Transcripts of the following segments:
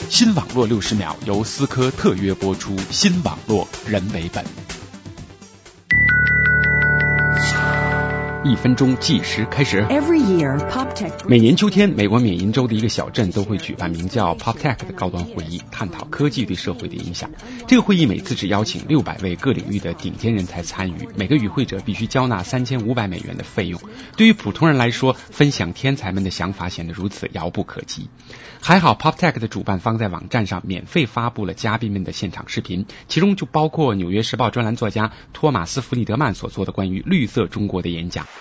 新网络60秒由思科特约播出，新网络人为本。1分钟计时开始。每年秋天，美国缅因州的一个小镇都会举办名叫 PopTech 的高端会议，探讨科技对社会的影响。这个会议每次只邀请600位各领域的顶尖人才参与，每个与会者必须交纳$3500的费用。对于普通人来说，分享天才们的想法显得如此遥不可及。还好 PopTech 的主办方在网站上免费发布了嘉宾们的现场视频，其中就包括《纽约时报》专栏作家托马斯·弗里德曼所做的关于绿色中国的演讲。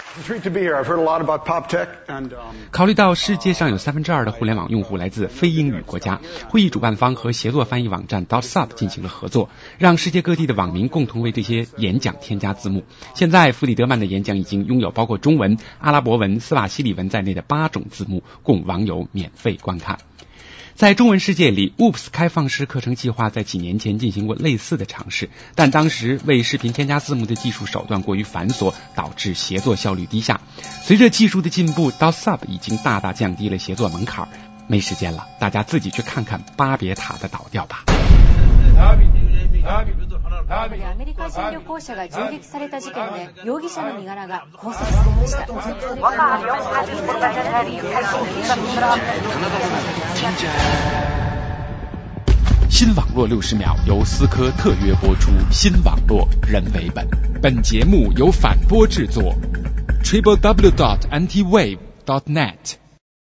考虑到世界上有2/3的互联网用户来自非英语国家，会议主办方和协作翻译网站 .sub 进行了合作，让世界各地的网民共同为这些演讲添加字幕。现在弗里德曼的演讲已经拥有包括中文、阿拉伯文、斯瓦希里文在内的8种字幕，供网友免费观看。在中文世界里 ，Oops 开放式课程计划在几年前进行过类似的尝试，但当时为视频添加字幕的技术手段过于繁琐，导致协作效率低下。随着技术的进步，.sub 已经大大降低了协作门槛。没时间了，大家自己去看看巴别塔的倒掉吧。 アメリカ人旅行者が銃撃された事件で容疑者の身柄が拘束されました。 新网络60秒由思科特约播出，新网络人为本。本节目由反播制作 www.antiwave.net